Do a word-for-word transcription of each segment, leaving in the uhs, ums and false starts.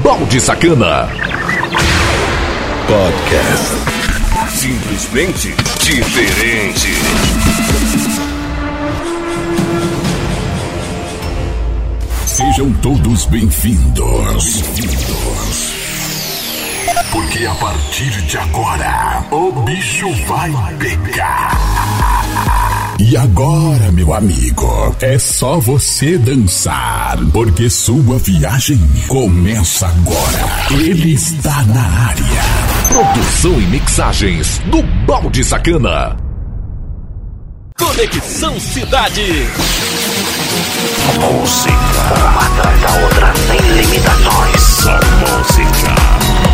Balde Sacana. Podcast. Simplesmente diferente. Sejam todos bem-vindos. Bem-vindos. Porque a partir de agora, o bicho vai pegar. E agora, meu amigo, é só você dançar, porque sua viagem começa agora. Ele está na área. Produção e mixagens do Balde Sacana. Conexão Cidade. Música, uma atrás da outra, sem limitações. Só música.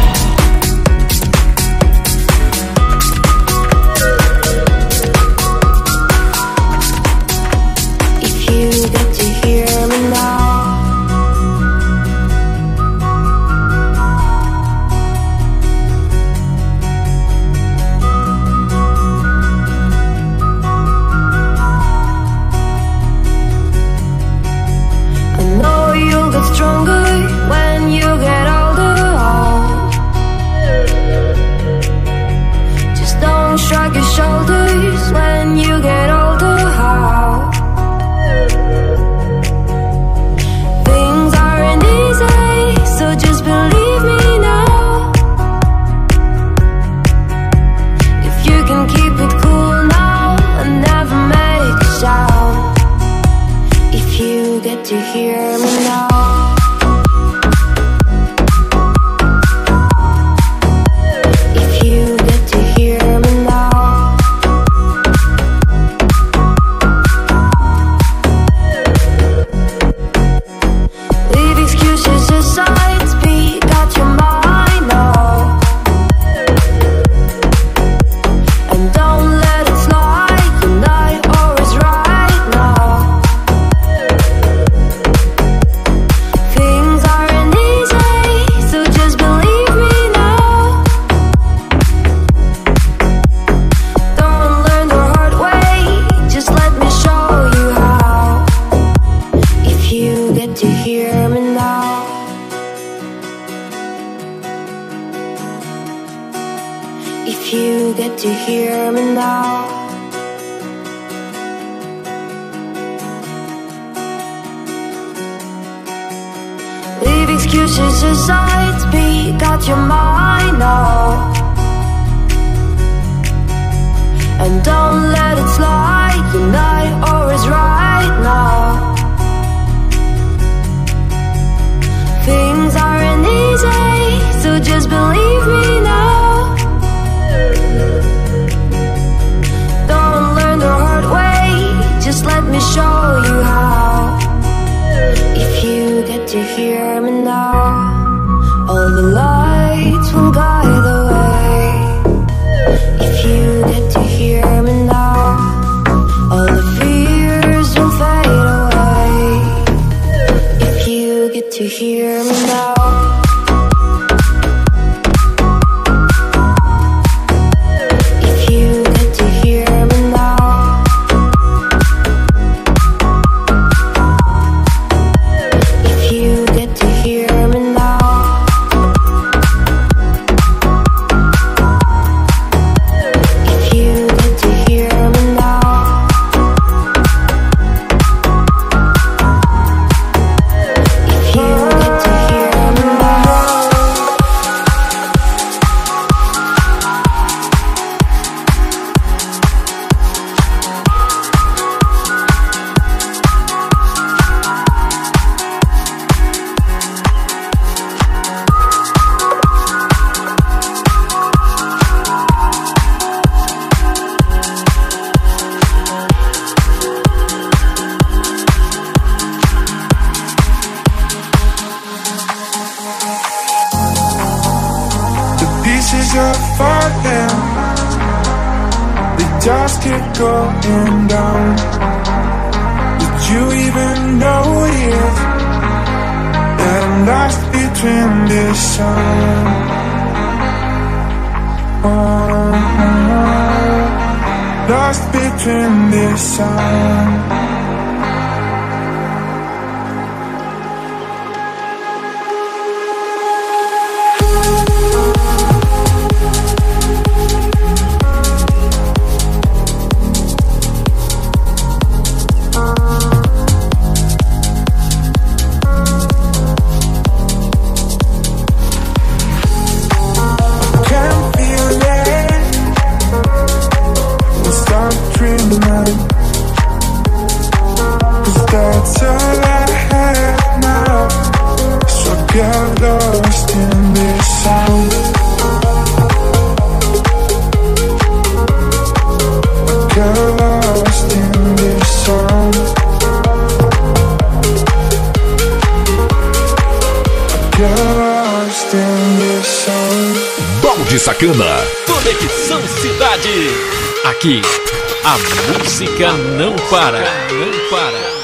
Lost between the sun. get lost in this sound. I get lost in this sound. I get lost in this sound. Balde Sacana. Conexão Cidade. Aqui, a música não para. Não para.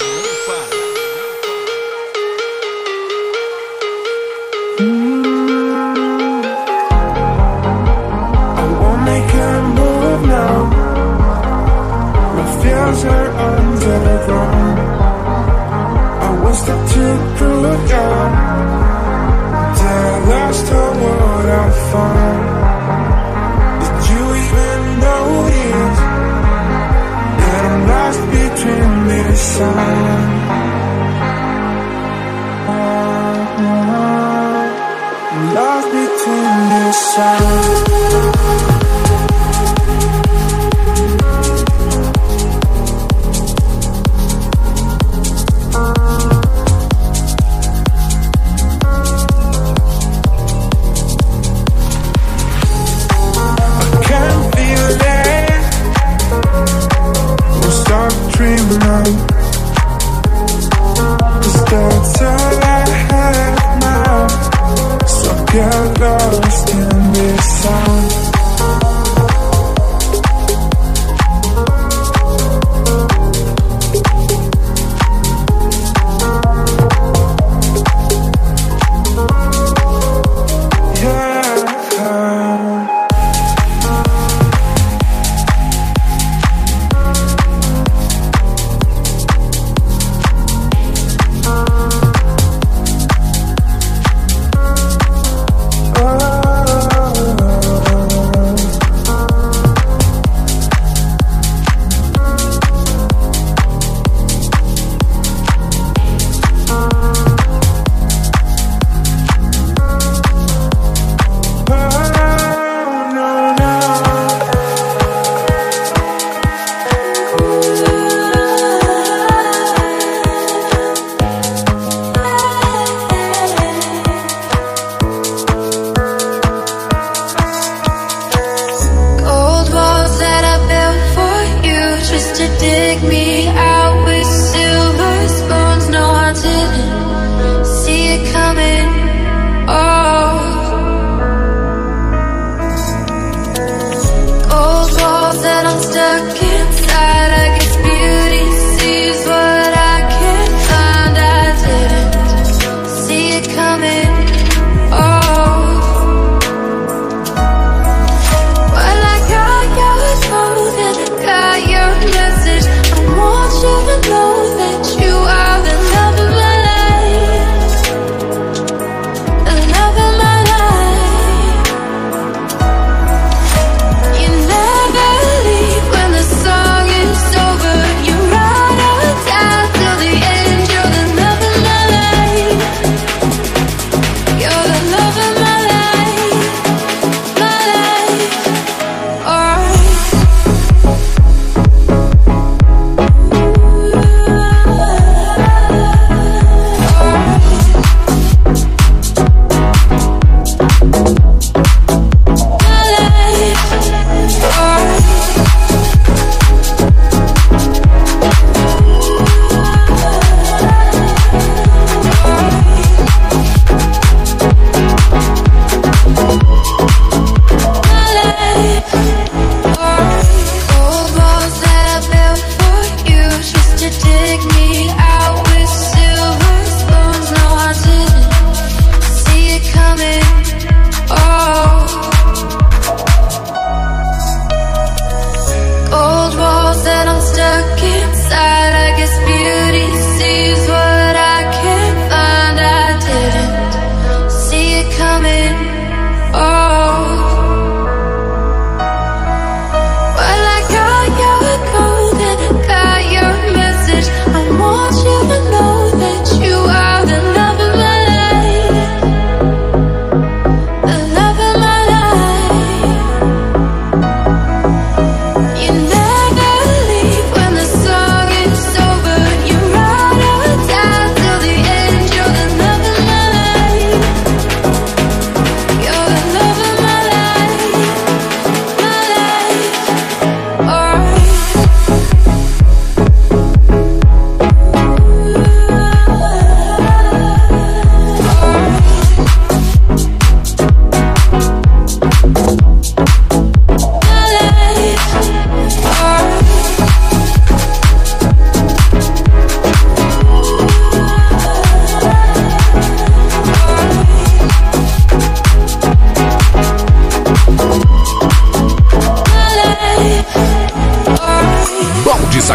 Are underground. I was the to prove down till I lost all what I found. Did you even notice that I'm lost between this sound? I'm lost between this sound. Cause that's all I have now. So get lost in this sound.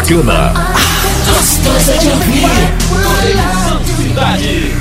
bacana, gostosa de ouvir. Conexão Cidade.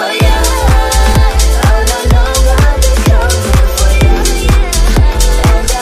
For you.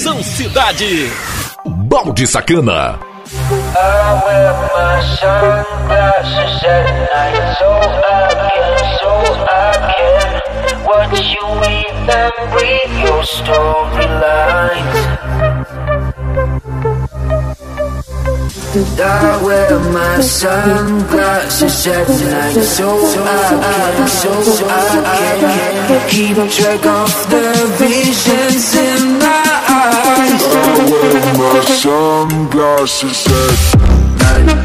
Conexão Cidade. Balde Sacana. I wear my sunglasses at night so I can, so I can watch you weave and breathe your storylines. I wear my sunglasses at night so I can, so I can keep track of the visions in my eyes. I wear my sunglasses at night.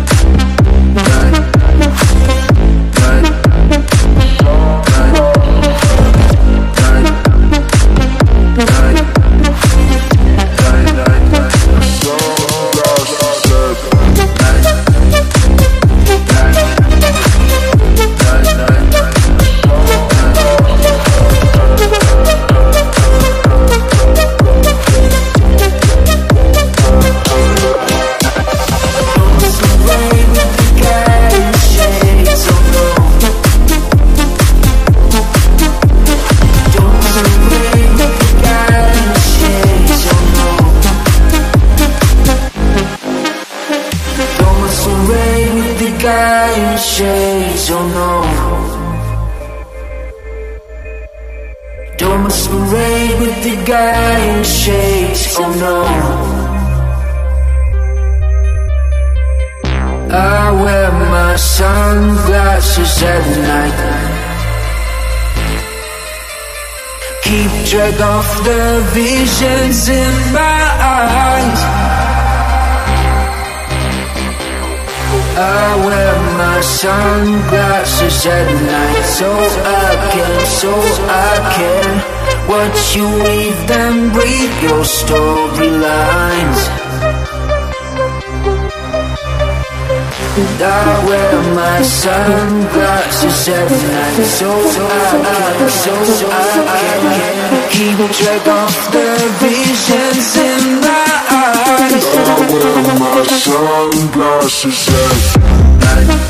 Shades, oh no. Don't masquerade with the guy in shades, oh no. I wear my sunglasses at night. Keep track of the visions in my eyes. I wear my sunglasses at night so I can, so I can watch you weave and breathe your storylines. I wear my sunglasses at night so I can, so I can keep track of the visions in my eyes. I wear my sunglasses at night.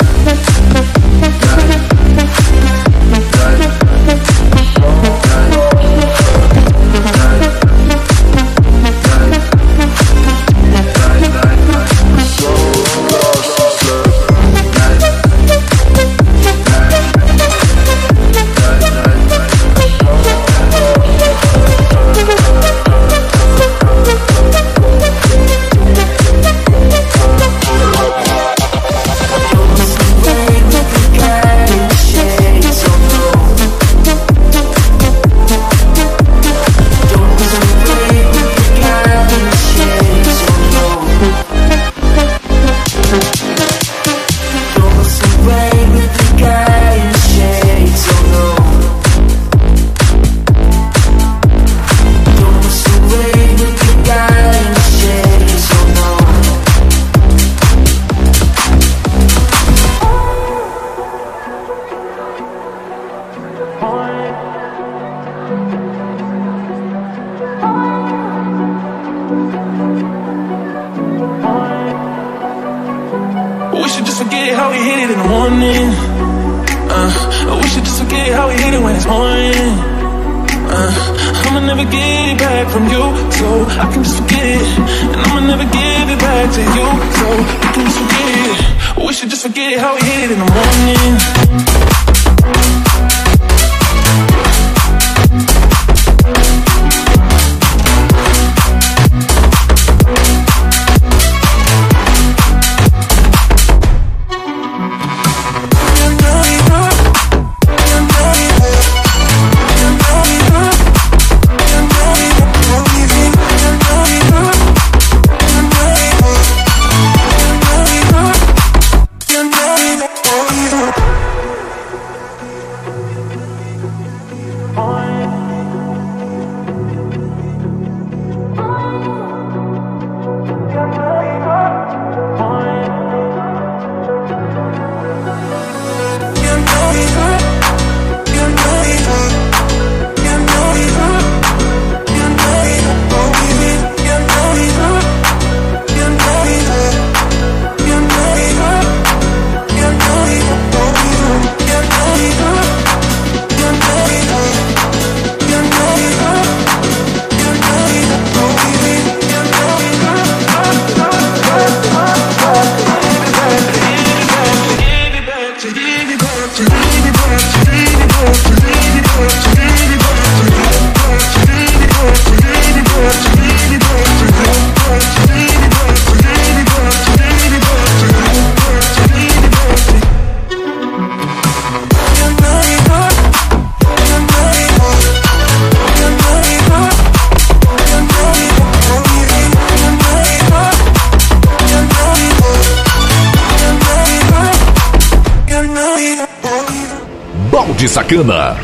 Balde Sacana.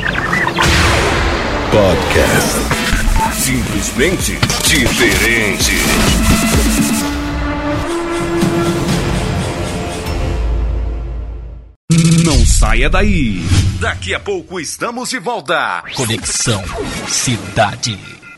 Podcast. Simplesmente diferente. Não saia daí. Daqui a pouco estamos de volta. Conexão Cidade.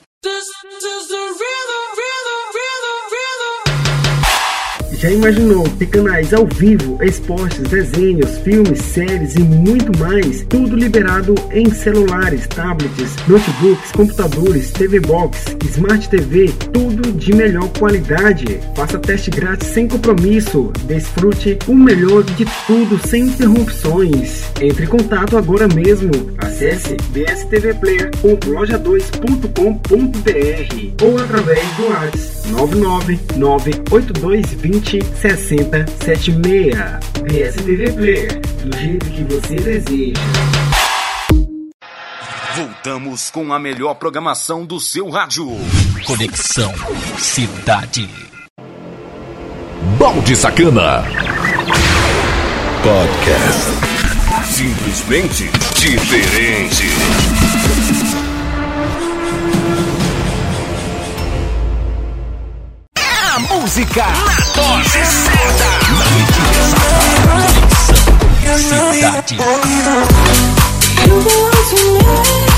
Já imaginou ter canais ao vivo, esportes, desenhos, filmes, séries e muito mais? Tudo liberado em celulares, tablets, notebooks, computadores, T V Box, Smart T V, tudo de melhor qualidade. Faça teste grátis sem compromisso. Desfrute o melhor de tudo sem interrupções. Entre em contato agora mesmo. Acesse b s t v player ponto loja dois ponto com ponto b r ou através do WhatsApp nove nove nove oito dois dois zero seis zero sete seis. B S T V Player, do jeito que você deseja. Voltamos com a melhor programação do seu rádio. Conexão Cidade. Balde Sacana. Podcast. Simplesmente diferente. A música na dose certa. Na medida exata. Cidade. You belong to me,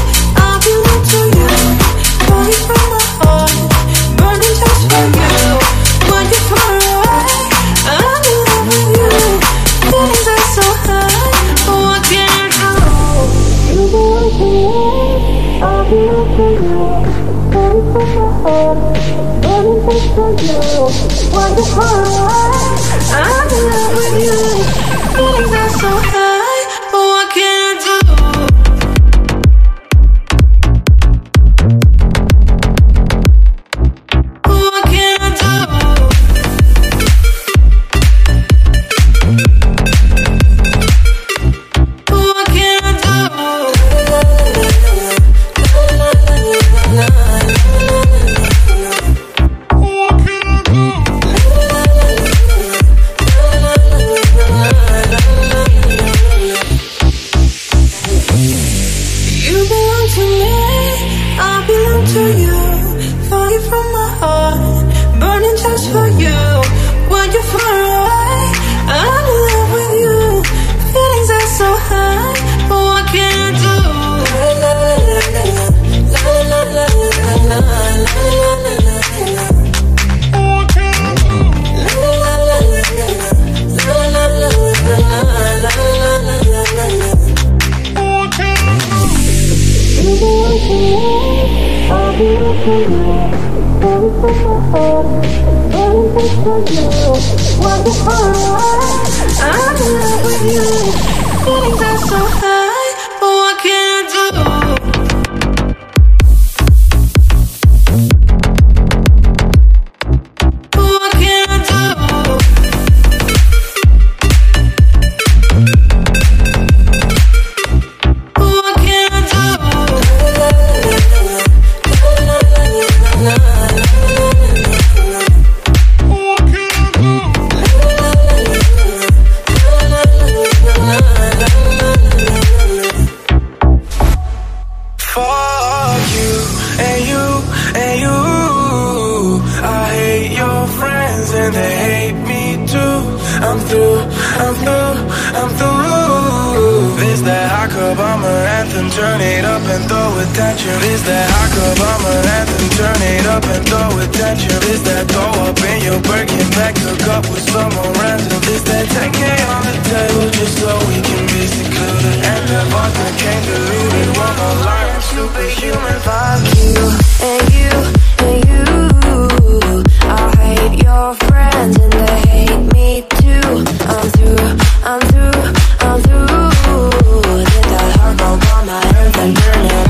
I belong to you. Falling from my heart, burning just for you. When you're far away, I'm in love with you. Feelings are so high, what can I do? You belong to me, I belong to you. Falling from my heart, burning just for you. When you're far away, I'm in love with you. Feelings are so high, what can I do?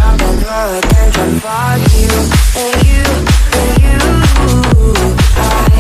Fuck you and you and you. I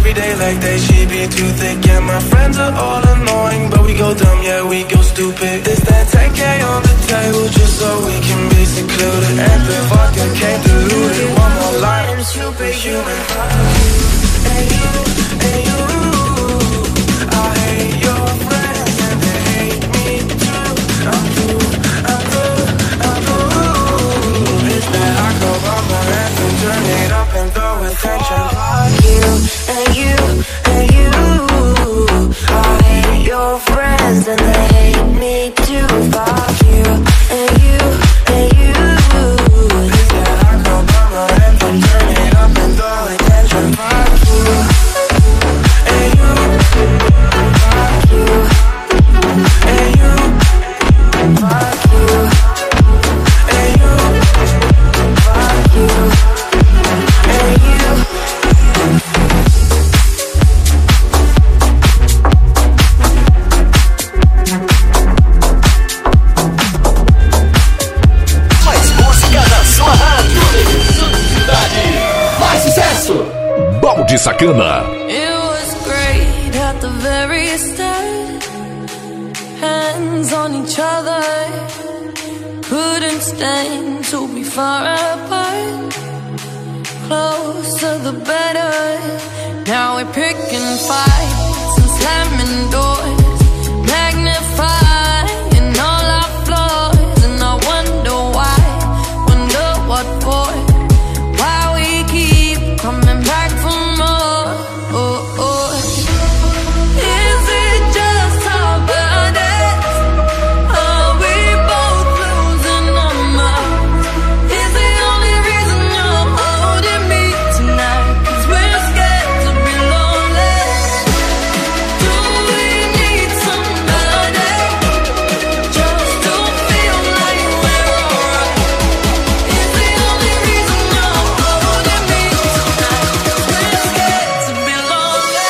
every day like they she be too thick. Yeah, my friends are all annoying, but we go dumb, yeah, we go stupid. This that ten K on the table just so we can be secluded. And the vodka came diluted. One more line, superhuman. And you, and you, I hate your friends and they hate me too. I'm through, I'm through, I'm through. It's that I go on my anthem, turn it up and throw attention. You and you and you, I hate your friends and they hate me too. Fuck you and you and you. It's that I go on my anthem, turn it up and throw attention. Fuck you and you, Fuck you and you, Fuck you and you, Fuck you and you. Mais música na sua rádio. Mais sucesso. Balde Sacana. It was great at the very start. Hands on each other. Couldn't stand to be far apart. Closer the better. Now we're picking fights and slamming doors. Magnifying all our flaws. And I wonder why. Wonder what for. Why we keep coming back for more. Oh, oh. Is it just our bodies? Are we both losing our minds? Is the only reason you're holding me tonight? 'Cause we're scared to be lonely. Do we need somebody just to feel like we're alright? Is the only reason you're holding me tonight? 'Cause we're scared to be lonely.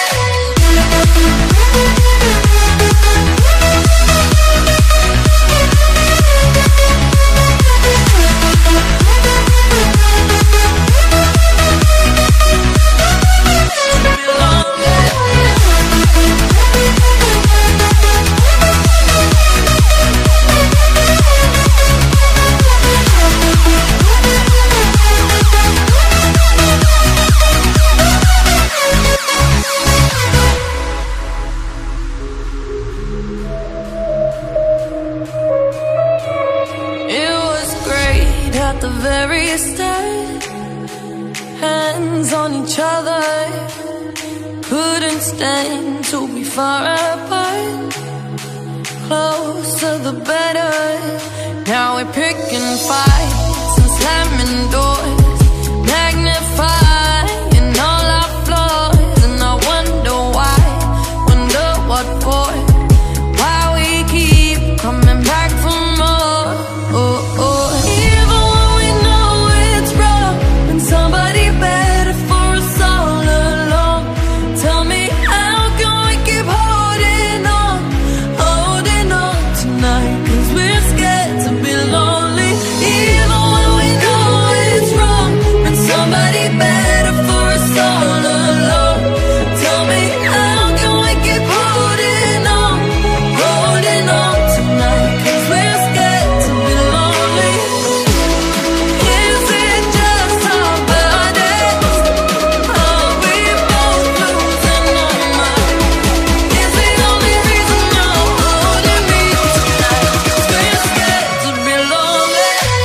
It was great at the very start. Hands on each other. Couldn't stand to be far apart. Closer the better. Now we're picking fights and slamming doors. Magnifying all our flaws. And I wonder why. Wonder what for. Why we keep coming back for more. Oh, oh. Even when we know it's wrong, when somebody better for us all along. Tell me, how can we keep holding on, holding on tonight? 'Cause we're scared to be lonely. Even when we know it's wrong, when somebody better for us all along. Tell me, how can we keep holding on, holding on tonight? 'Cause we're scared to be lonely. Is it just our bodies? Are we both losing our minds? Is the only reason you're holding me tonight? 'Cause we're scared to be lonely.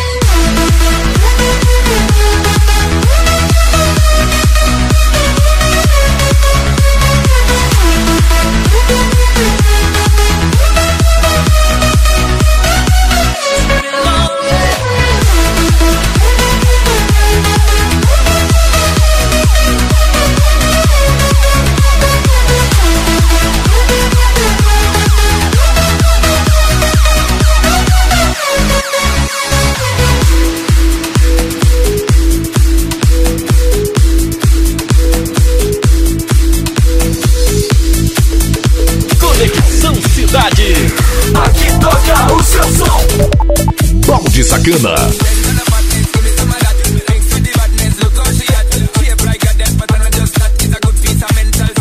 Conexão Cidade. Aqui toca o seu som. Balde Sacana. Look how she at, shape like a death, but I just that is a good piece of mental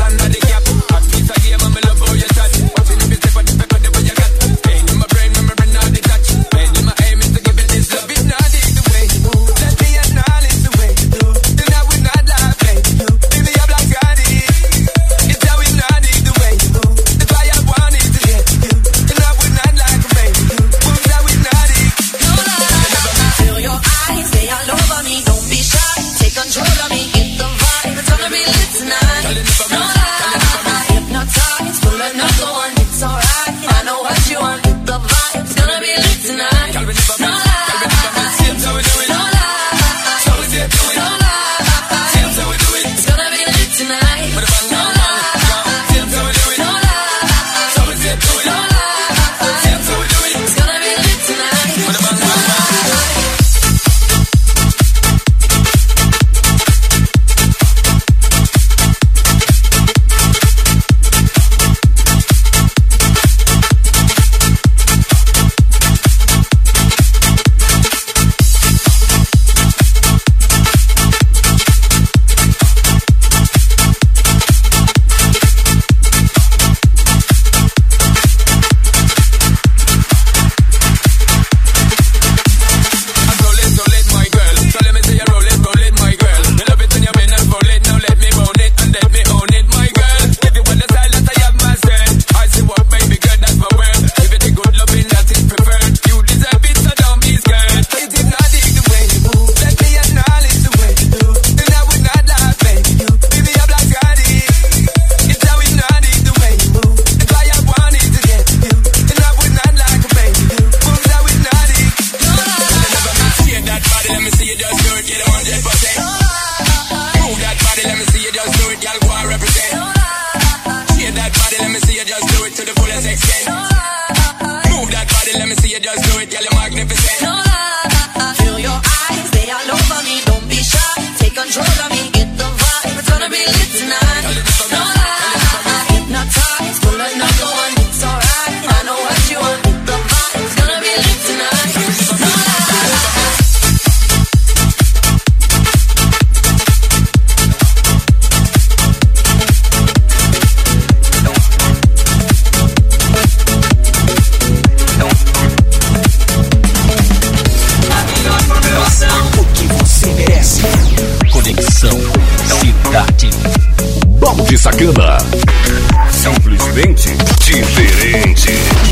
control of me. Get the vibe, it's gonna be lit tonight. No lie, hypnotized, pull another one. It's alright, I know what you want. Get the vibe, it's gonna be lit tonight. No lie. Conexão Cidade. Balde Sacana. Simplesmente diferente.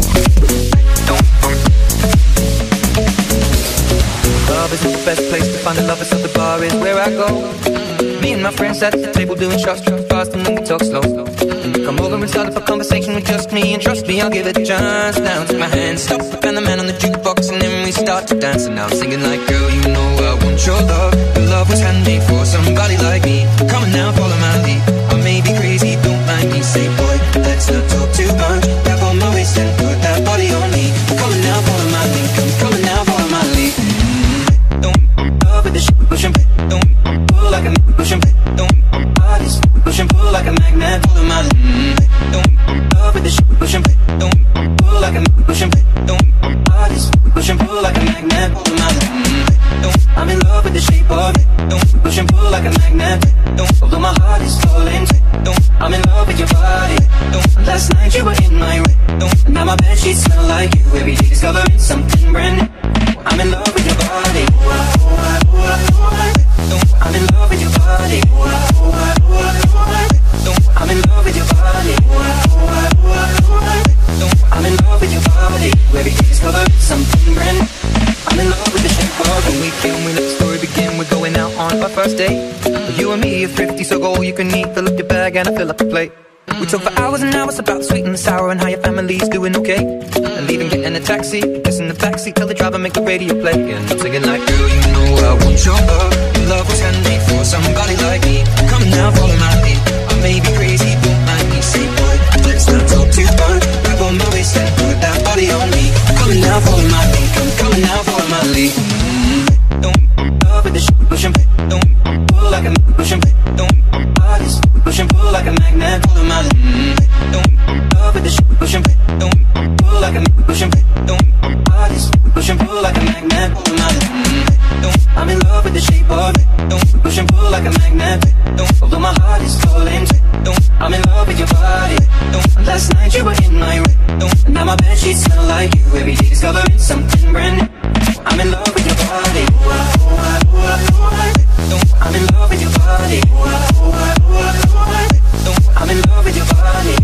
Love isn't the best place to find the lovers, so the bar is where I go. Me and my friends at the table doing shots, tripping fast and then we talk slow. Come over and start up a conversation with just me, and trust me, I'll give it a chance. Now take my hand, stop, and the man on the jukebox, and then we start to dance. And now I'm singing like, girl, you know I want your love. Your love was handmade for somebody like me. Come on now, follow my lead. I may be crazy, don't mind me. Say, boy, let's not talk too much. Tap on my waist and put that body on me. Come on now, follow my lead. Come, come on now, follow my lead. Don't love with the shit, push and don't pull like a push and don't bodies push and pull like a magnet. Follow my lead. Don't love with the shit, push and don't pull like a push and don't bodies push and pull like a magnet. Follow my lead. Don't I'm in love with the shape of it. Don't push and pull like a magnet. Don't although my heart is falling. Don't I'm in love with your body. Don't last night you were in my way. Don't now my bed sheets smell like you. Every day discovering something brand new. I'm in love with your body. Don't I'm in love with your body. Don't I'm in love with your body. Don't I'm in love with your body. Every day discovering something brand new. I'm in love with the shape of it. Weekend, we let the story begin. We're going out on our first date. You and me are thrifty, so go all you can eat. Fill up your bag and I fill up the plate. We talk for hours and hours about the sweet and the sour and how your family's doing okay. And leaving, getting a taxi, just in the backseat, tell the driver make the radio play. And I'm singing like, girl, you know I want your love. Your love was handmade for somebody like me. Come now, follow my lead. I may be crazy, don't mind me. Say, boy, let's not talk too much. Grab on my waist and put that body on me. Come now, follow my lead. Come, come now, follow my lead. Mm-hmm. Don't love with the shit, push and don't pull like a push and don't bodies push and pull like a magnet. Follow my lead. Mm-hmm. Don't love with the shit, push and don't pull like a push and don't bodies push and pull like a magnet. Follow my lead. Mm-hmm. Don't I'm in love with the shape of it. Don't push and pull like a magnet. Don't although my heart is falling. Don't I'm in love with your body. Don't last night you were in my way. Don't now my bed sheets smell like you. Every day discovering something brand new. I'm in love with your body. Don't I'm in love with your body. Don't I'm in love with your body.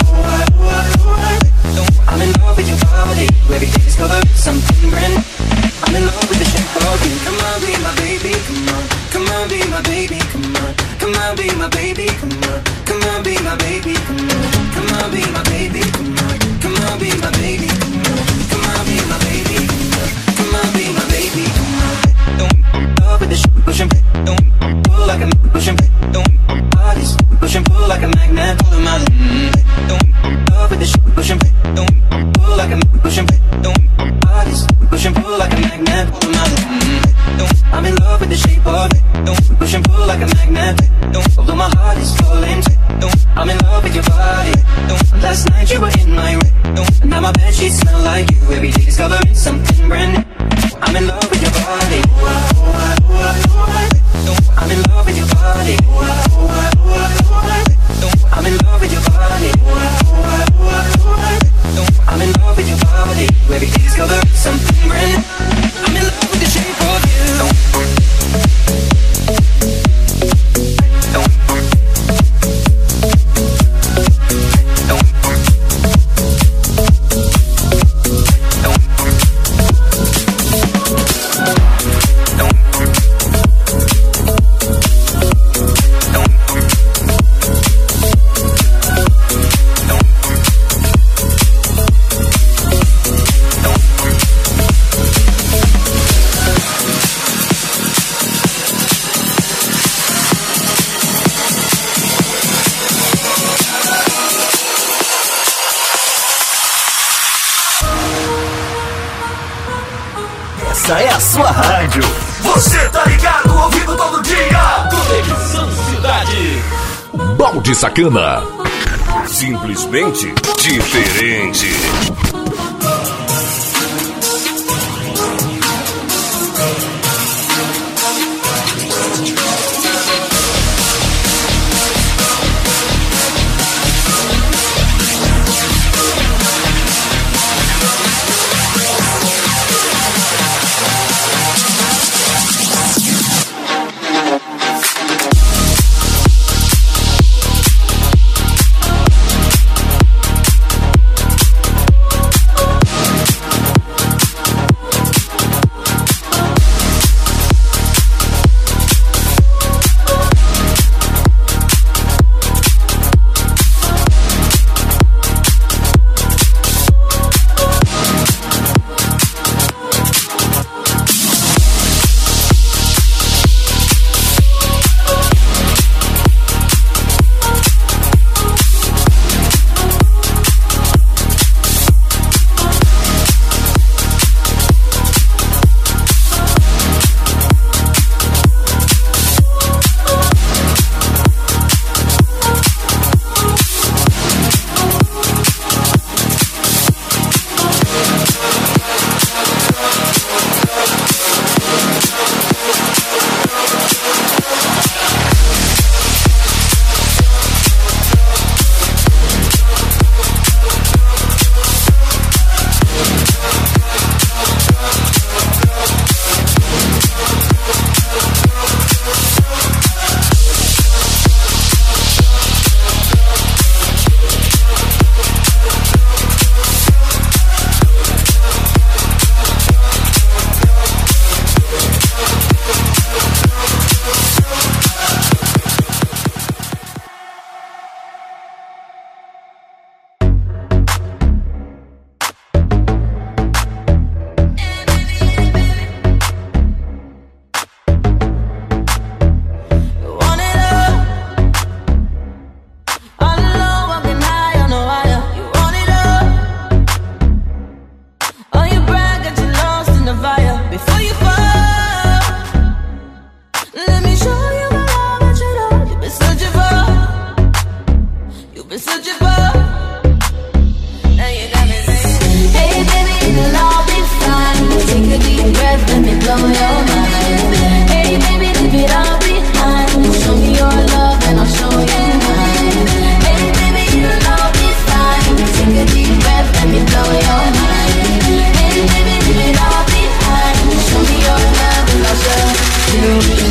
Don't I'm in love with your body. Every day discovering something brand new. I'm in love with the shape of you. Come on, be my baby, come on. Come on, be my baby, come on. Come on, be my baby, come on. Come on, be my baby, come on. Come on, be my baby, come on. Come on, be my baby, come on. Come on, be my baby, come on. Come on, be my baby, come on. Don't love with the shit, push and don't pull like a push and don't bodies push and pull like a magnet. Follow my lead. Don't love with the shit, push and don't pull like a push and don't bodies push and pull like a magnet. Follow my lead. Don't I'm in love with the shape of it. Don't push and pull like a magnet. Don't although my heart is falling. Don't I'm in love with your body. Don't last night you were in my way. Don't now my bed sheets smell like you. Every day discovering something brand new. I'm in love with your body. Don't I'm in love with your body. Don't I'm in love with your body. Don't I'm in love with your body. Every day discovering something brand new. I'm in love with the shape of you. Don't Essa é a sua rádio. Você tá ligado, ouvindo todo dia. Conexão Cidade. Balde Sacana. Simplesmente diferente.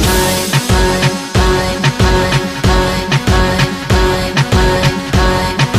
Mine, mine, mine, mine, mine, mine, mine, mine.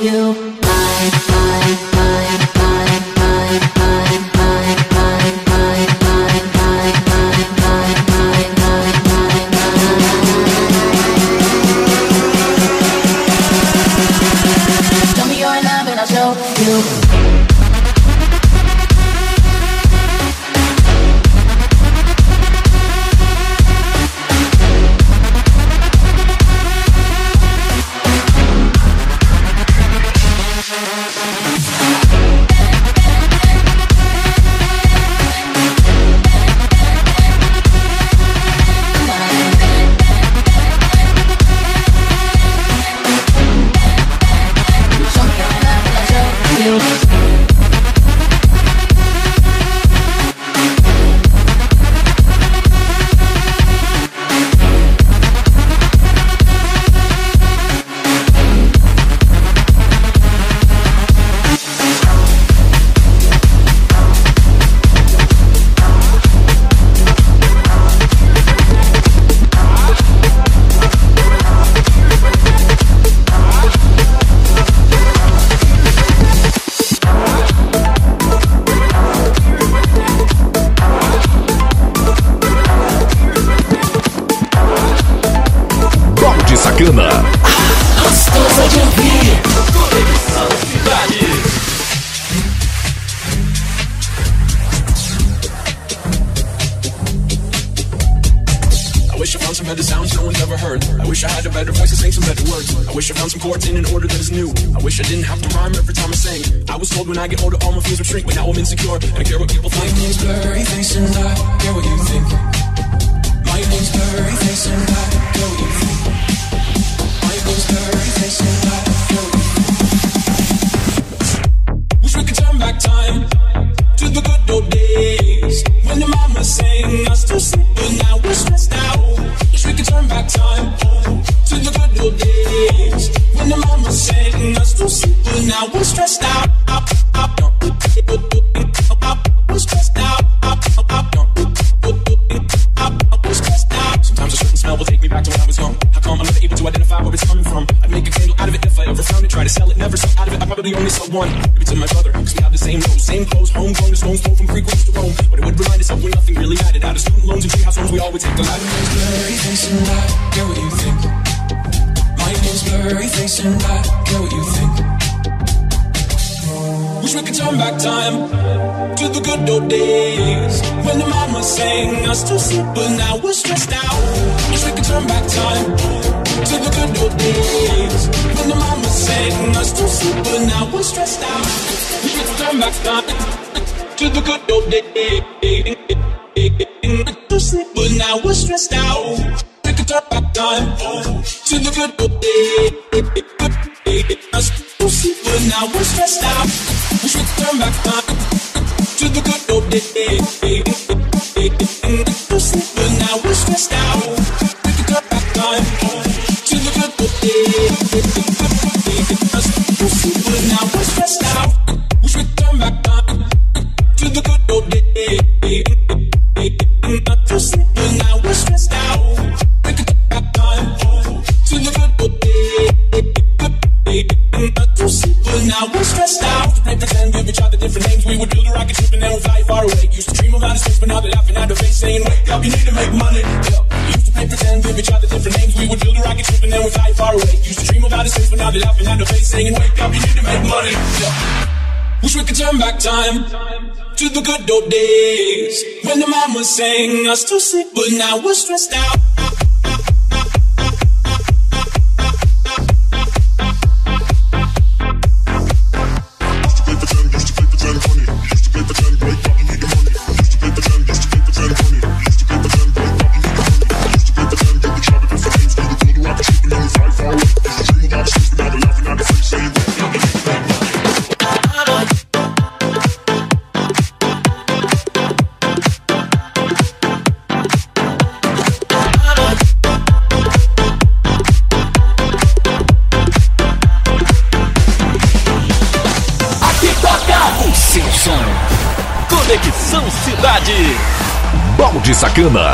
you. Mine, mine, mine, mine, mine, mine, mine, mine, mine, mine, mine, mine, mine, mine, mine, mine. Tell me you're in love and I'll show you. Gostosa de ouvir. Conexão Cidade. I wish I found some better sounds no one's ever heard. I wish I had a better voice to sing some better words. I wish I found some chords in an order that is new. I wish I didn't have to rhyme every time I sang. I was told when I get older all my fears would shrink, but now I'm insecure and I care what people think. My name's blurry face and I care what you think. My name's blurry face and I care what you think. My name's blurry face and I care what you think. Wish we could turn back time to the good old days when the mama sang us to sleep, but now we're stressed out. Wish we could turn back time to the good old days when the mama sang us to sleep, but now we're stressed out. We're stressed out. We're stressed out. Sometimes a certain smell will take me back to when I was young. How come I'm never able to identify where it's coming from? I'd make a candle out of it if I ever found it. Try to sell it, never sell out of it. I probably only sold one. Maybe to my brother, cause we have the same nose, same clothes, homegrown, the stones throw from Greek roots to Rome. But it would remind us of when nothing really mattered. Out of student loans and treehouse homes, we all would take the ladder. My name's blurry face and I care what you think. My name's blurry face and I care what you think. Wish we could turn back time to the good old days when the mama sang us to sleep, but now we're stressed out. Wish we could turn back time to the good old days when the mama sang us to sleep, but now we're stressed out. Wish we could turn back time to the good old days to sleep, but now we're stressed out. We could turn back time to the good old days to sleep, but now we're stressed out. Wish we could turn back time to the good old days to sleep, but now we're stressed out. We could turn back time to the good old days to sleep, but now we're stressed out. Wish we could turn back time to the good old days to sleep, but now we're stressed out. We could turn back time to the good old days to sleep, but now we're stressed out. To pretend, give each other different names. We would build a rocket ship and then we'd fly far away. Used to dream of outer space, but now they're laughing at the face, saying, wake up, you need to make money. Yeah. Used to play pretend, give each other different names. We would build a rocket ship and then we'd fly far away. Used to dream of outer space, but now they're laughing at the face, saying, wake up, you need to make money. Yeah. Wish we could turn back time to the good old days when the mama sang us to sleep, but now we're stressed out. Conexão Cidade. Balde Sacana.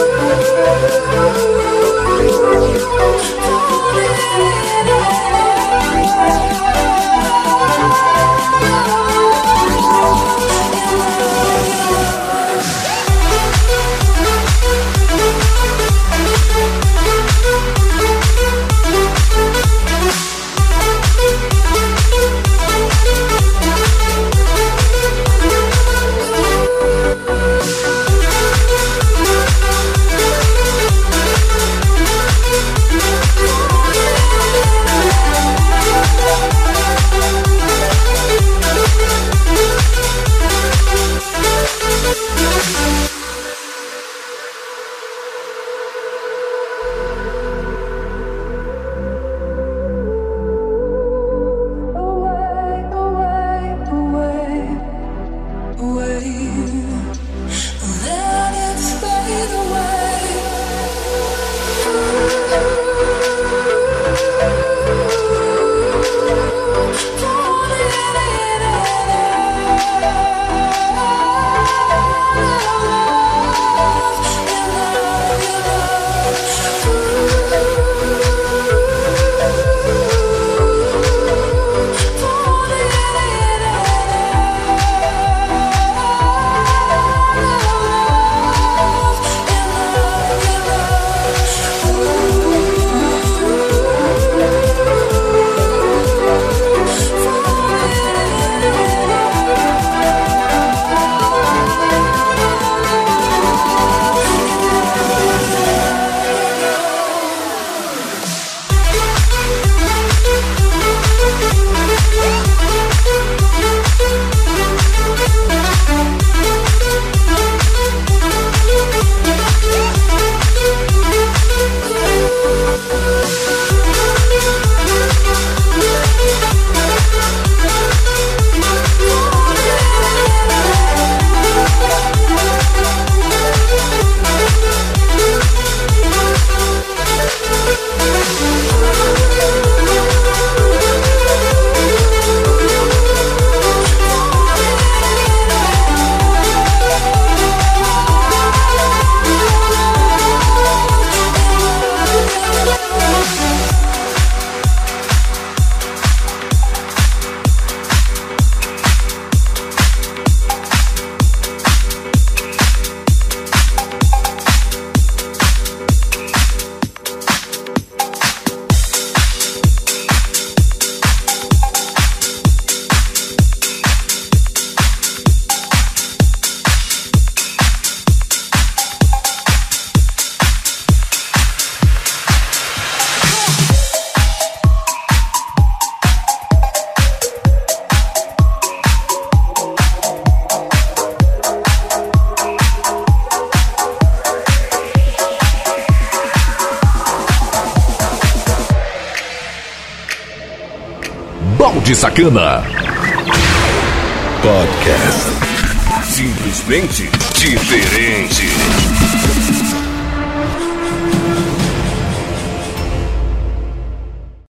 Balde Sacana Podcast. Simplesmente diferente.